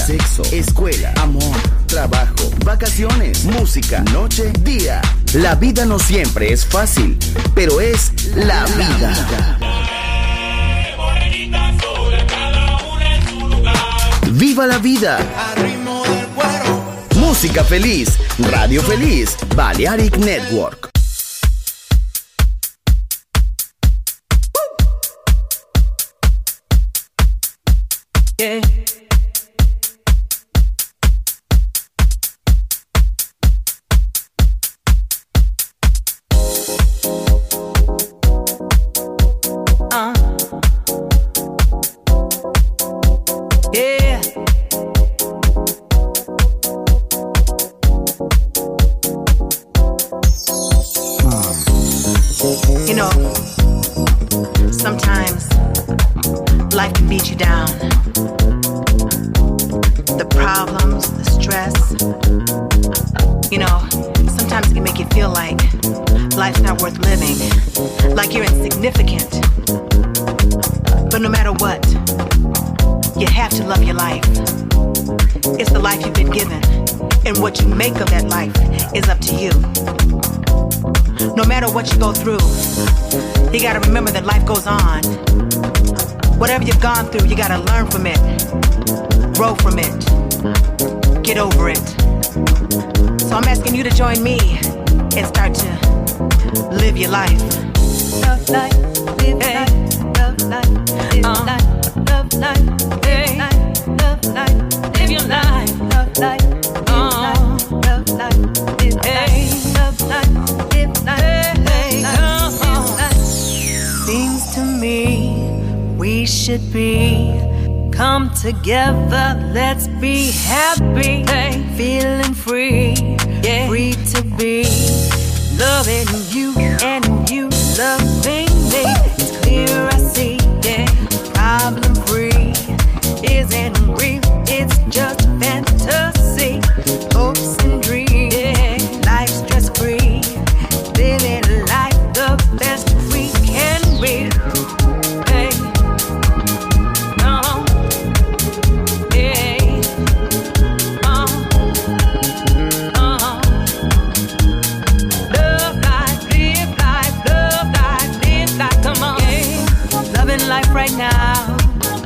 familia, sexo, escuela, amor, trabajo, vacaciones, música, noche, día. La vida no siempre es fácil, pero es la vida. ¡Viva la vida! Música feliz, radio feliz, Balearic Network. Yeah. Yeah. You know, sometimes life can beat you down. The problems, the stress. You know, sometimes it can make you feel like life's not worth living, like you're insignificant. But no matter what, you have to love your life. It's the life you've been given, and what you make of that life is up to you. No matter what you go through, you gotta remember that life goes on. Whatever you've gone through, you gotta learn from it, grow from it, get over it. So I'm asking you to join me and start to live your life. Love life, live life, love life, live life, love life, live life, love life, live your life, love life, love life, live life, love life, live life, live life. Seems to me we should be come together, let's be happy, feeling free, free to be loving you and you loving me. It's clear I see, problem free isn't real, it's just fantasy, hopes and dreams, life stress free, living life the best we can be. Life right now,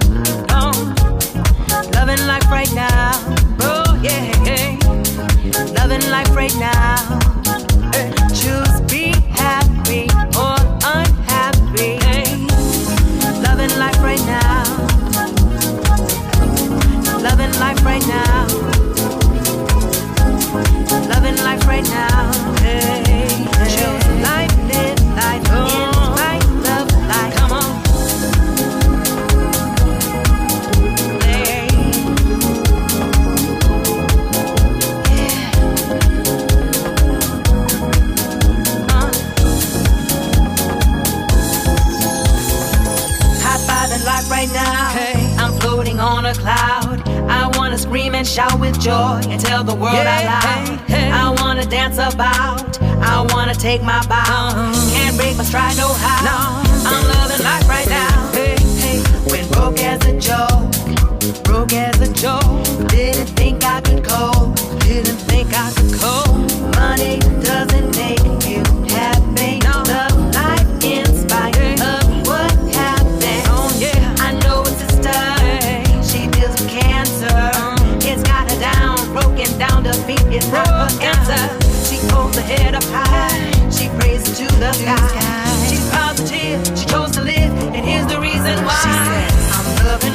loving life right now, oh yeah, loving life right now. Choose be happy or unhappy. Loving life right now, loving life right now, loving life right now. Choose life, live life, in life, love life. Come on. Right now, I'm floating on a cloud. I wanna scream and shout with joy and tell the world out loud. I wanna dance about, I wanna take my bow. Can't break my stride, no how. I'm loving life right now. When broke as a joke, broke as a joke. Didn't think I could cope, didn't think I could cope. Money doesn't make you happy. Love life in spite of what happened. I know a sister, she deals with cancer. It's got her down, broken down, defeat is not her answer. She holds her head up high, she praises to the sky. She's positive, she chose to live, and here's the reason why. She said, I'm loving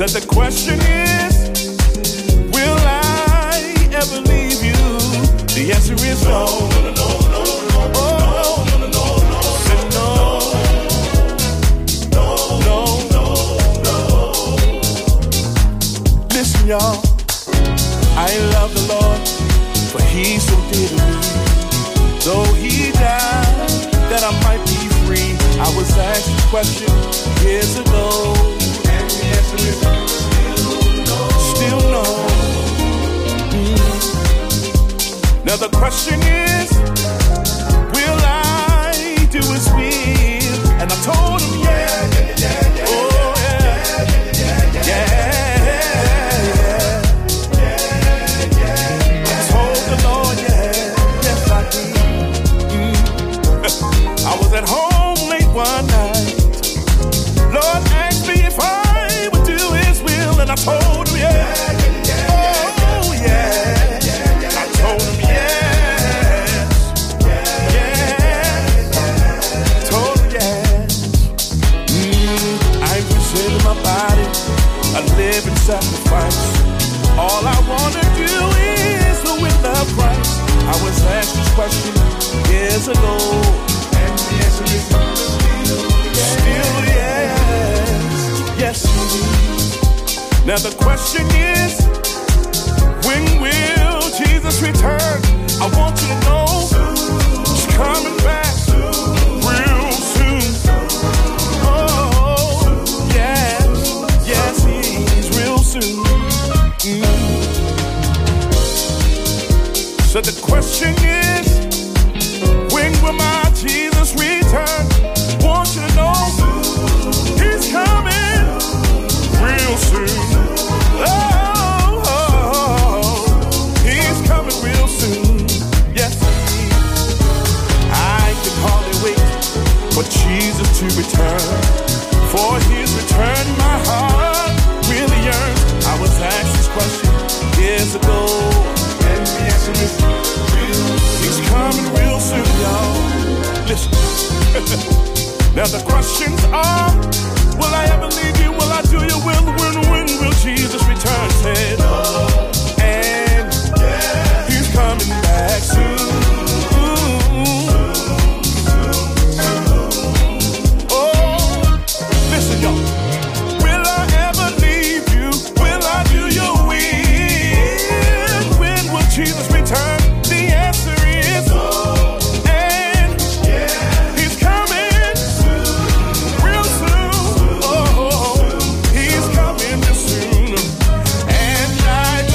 Said the question is, will I ever leave you? The answer is no. Listen, y'all, I love the Lord, for He so dear to me. Though He died, that I might be free. I was asked this question years ago, and the answer is still no. Now the question is, will I do His will? And I told Him, yeah. Oh, yeah. Yeah. I was at home late one night. Lord asked me if I would do His will, and I told Him yeah. Oh yeah. I told Him yes. Yeah. Told Him yes. I'm presenting my body a living sacrifice. All I wanna do is the will of Christ. I was asked this question years ago. Still yes, yes indeed. Now the question is, when will Jesus return? I want you to know He's coming back real soon. Oh, yes, yes He's real soon. So the question is, when will my Jesus return? Want you to know He's coming real soon. Oh, He's coming real soon. Yes, I can hardly wait for Jesus to return. For His return, my heart really yearns. I was asked this question years ago, and the answer is He's coming real soon, y'all. Listen. Now the questions are, will I ever leave you? Will I do your will? When will Jesus return? Said, and He's coming back soon. Oh, listen, y'all. Will I ever leave you? Will I do your will? When will Jesus return? The answer is and He's coming real soon. Oh, He's coming real soon. And I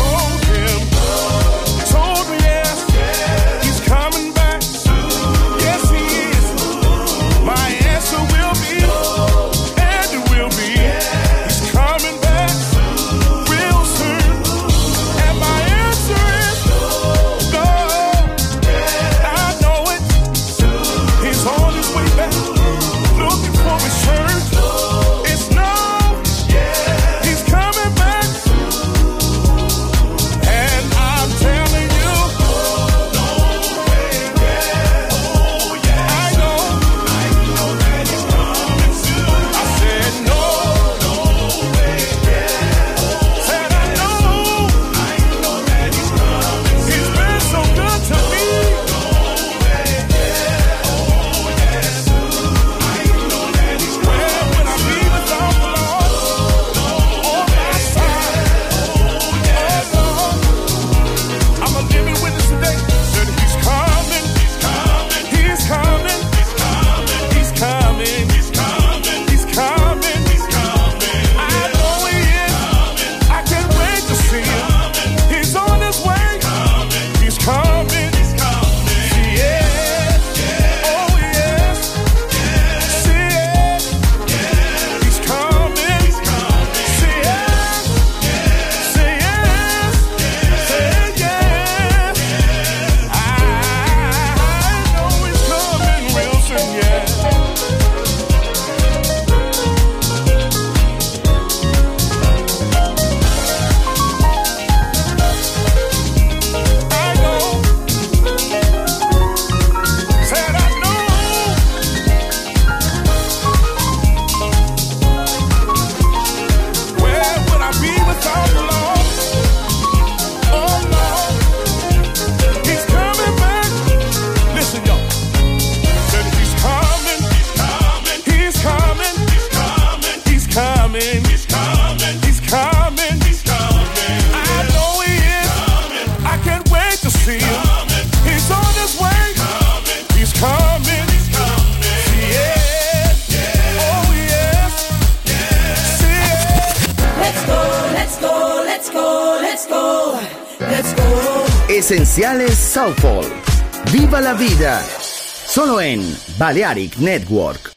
Esenciales Soulful. Viva la vida. Solo en Balearic Network.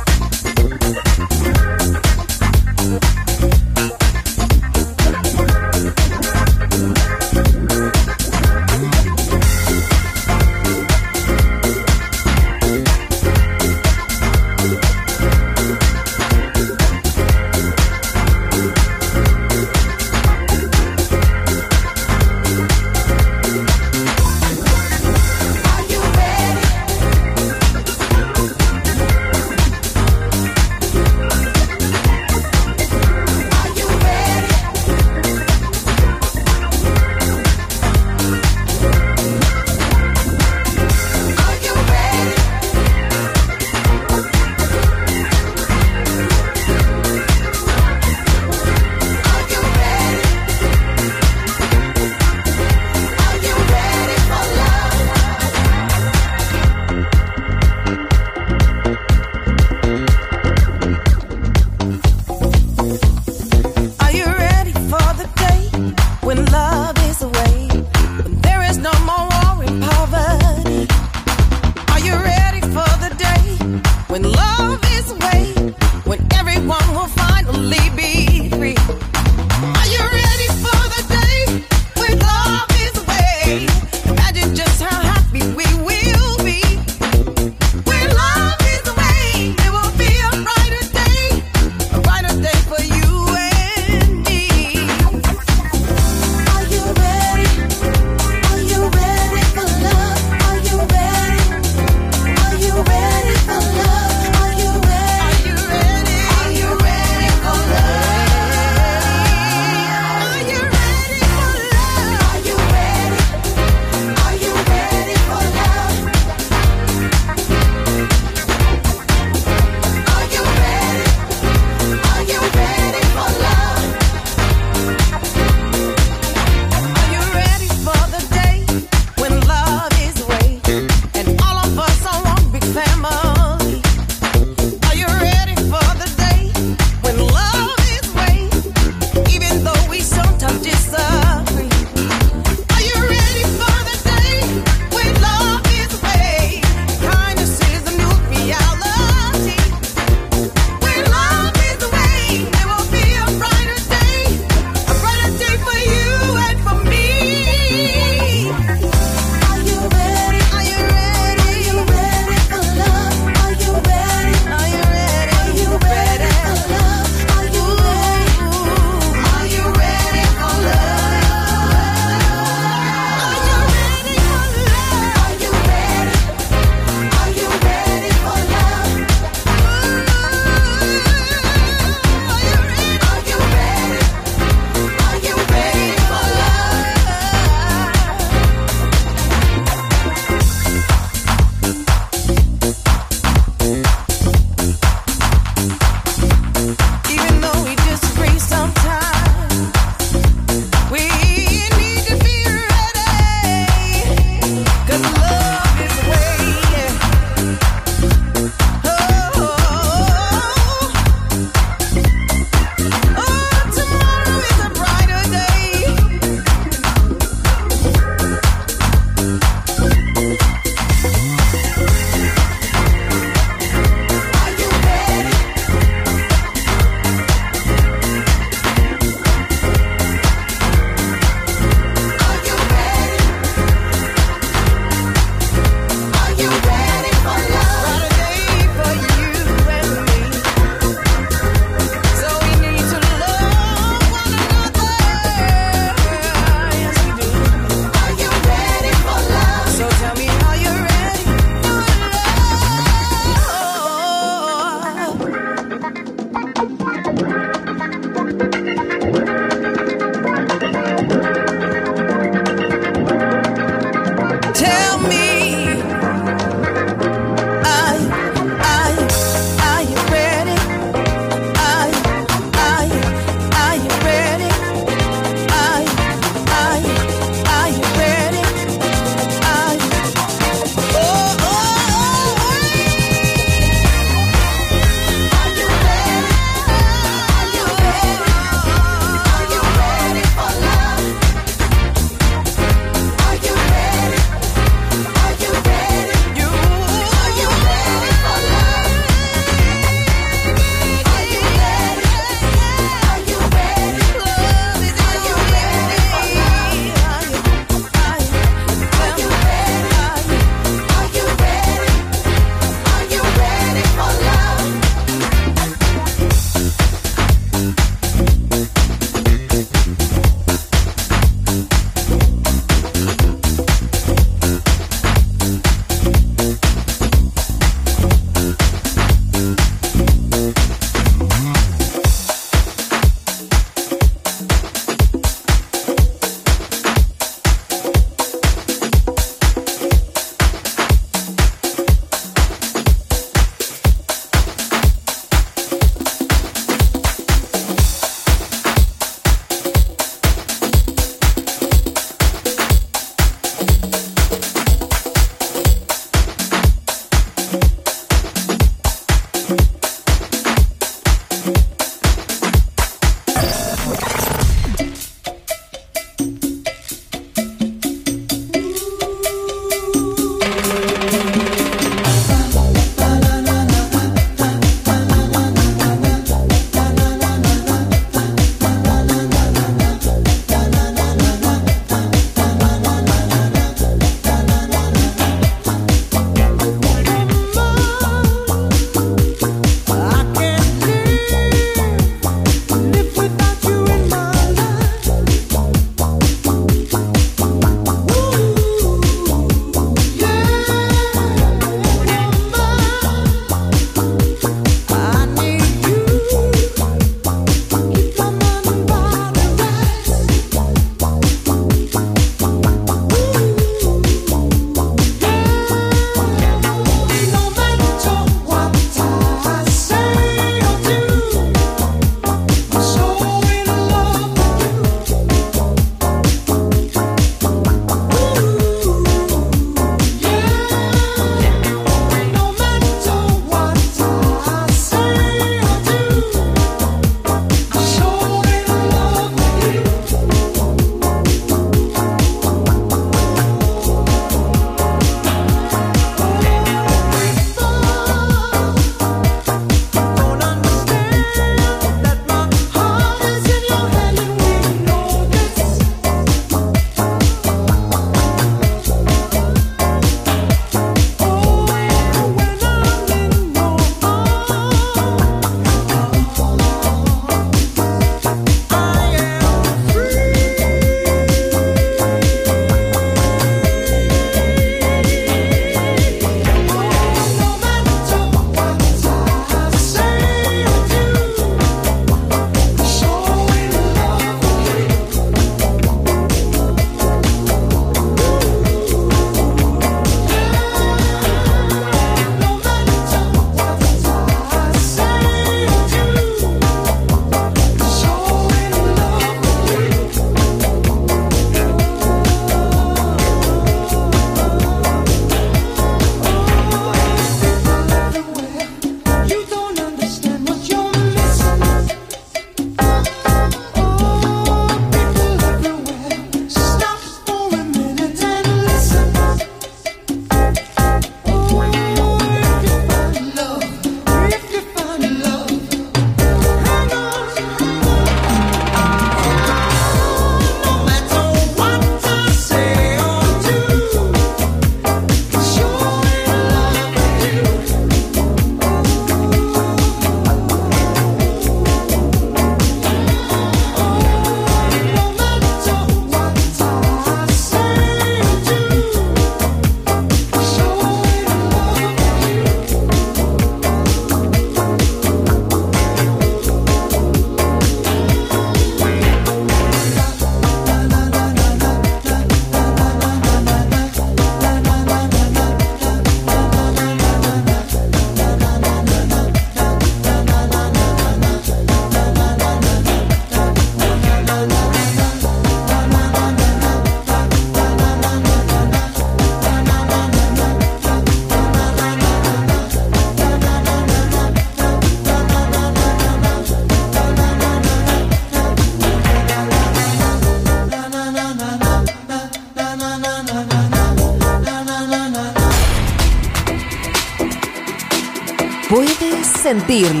sentirlo?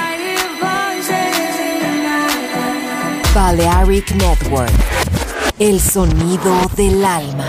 Balearic Network, el sonido del alma.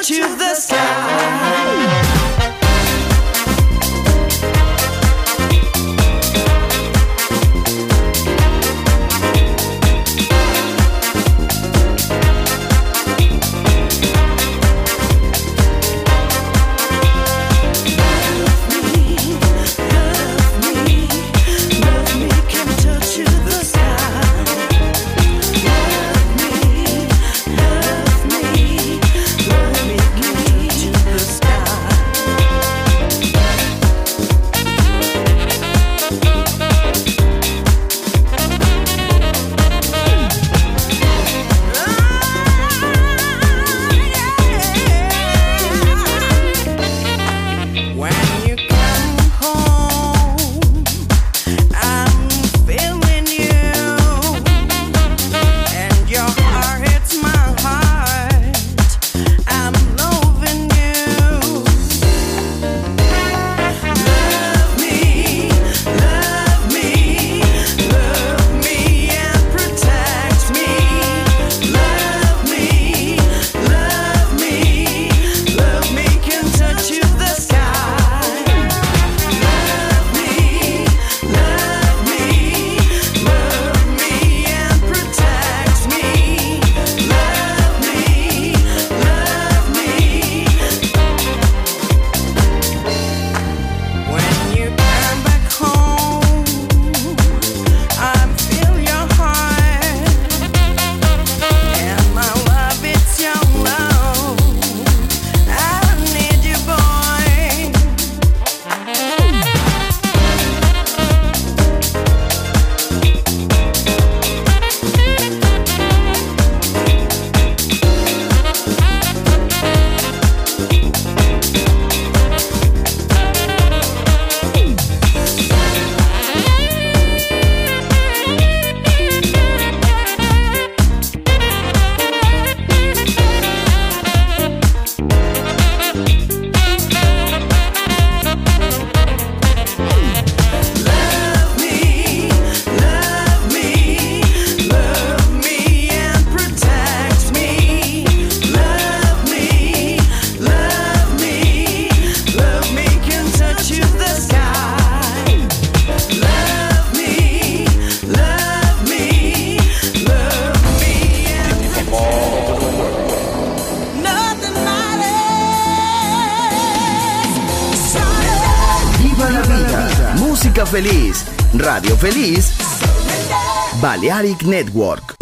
touch you the sky. Feliz, Radio Feliz, Balearic Network.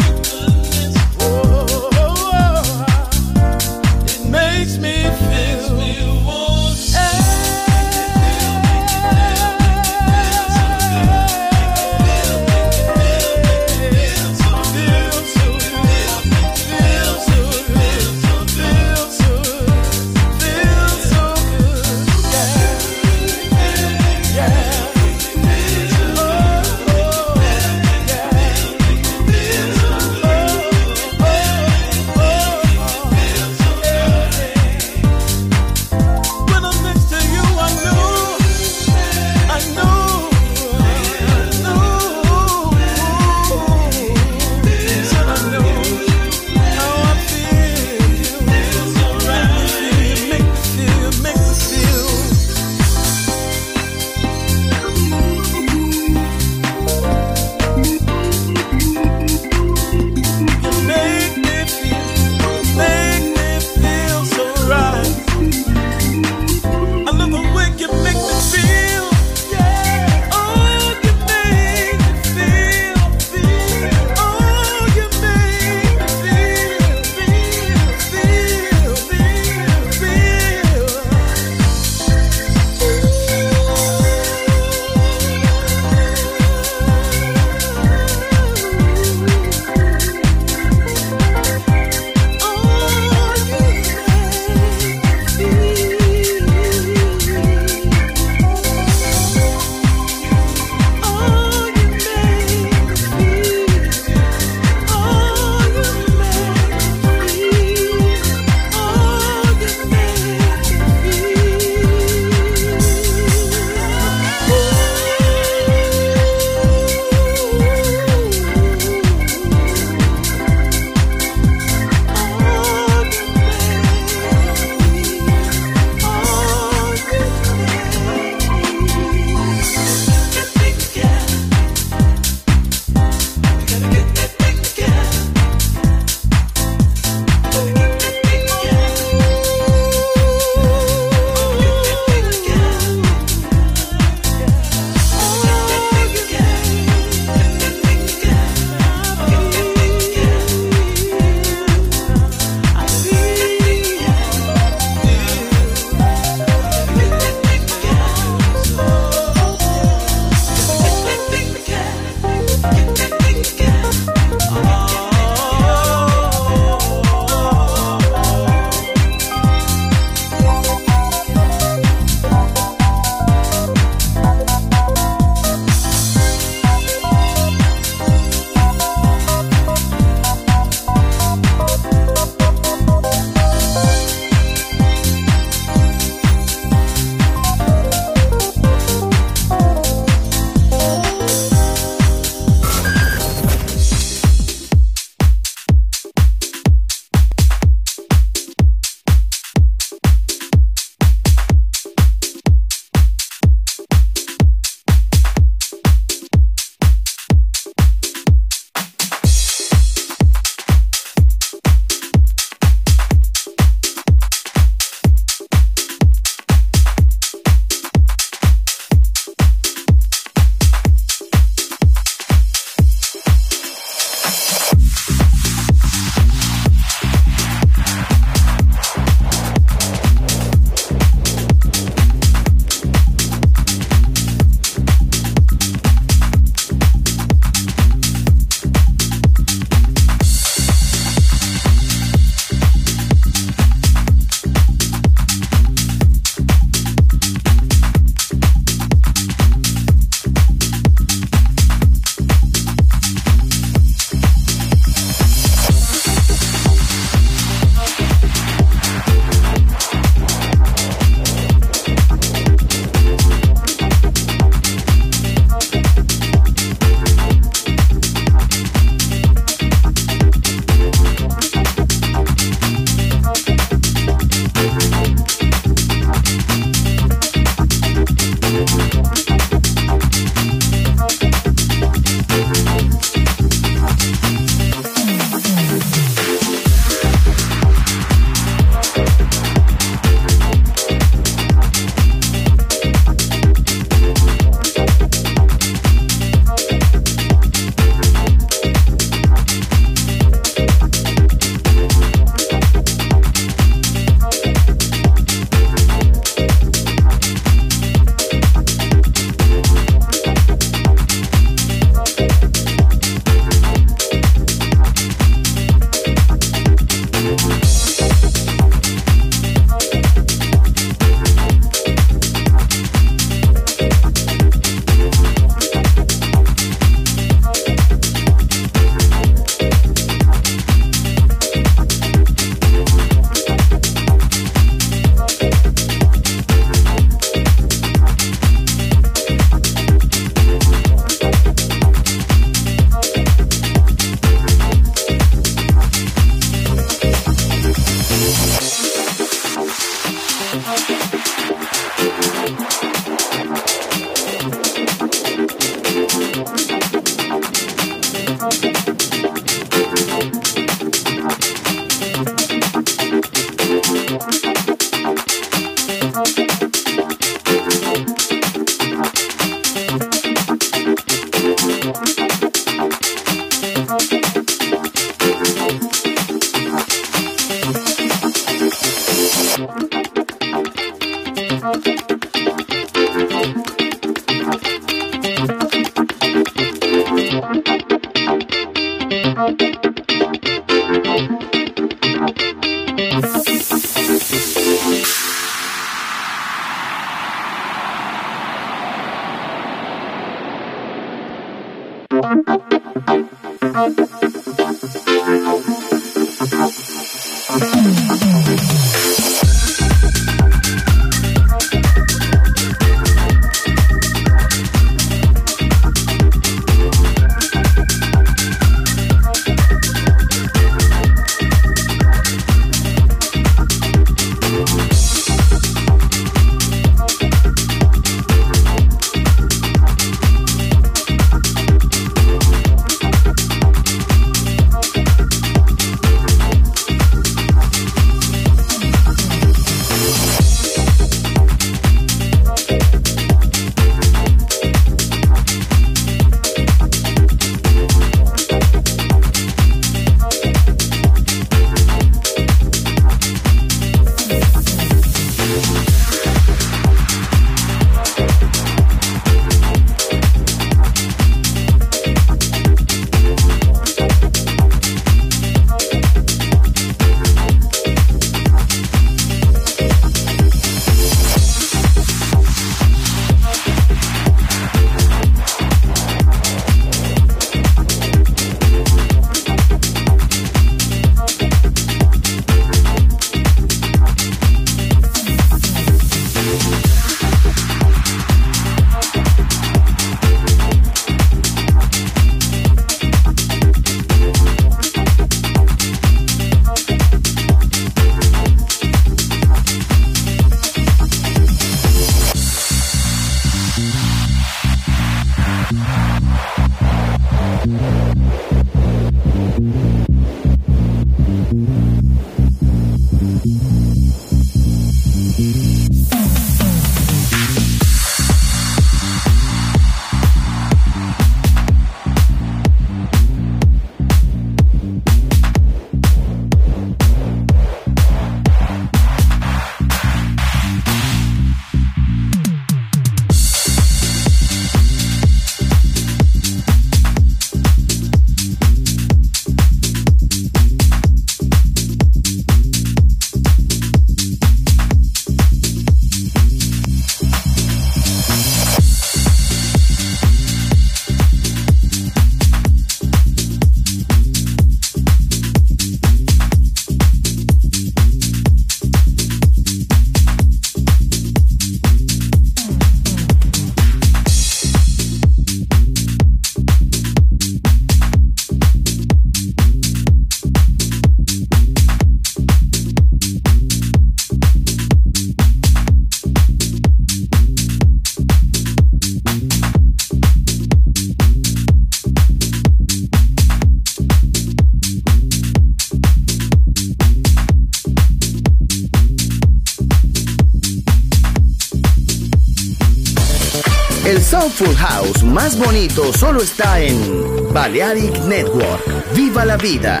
El Soulful House más bonito solo está en Balearic Network. ¡Viva la vida!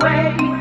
away.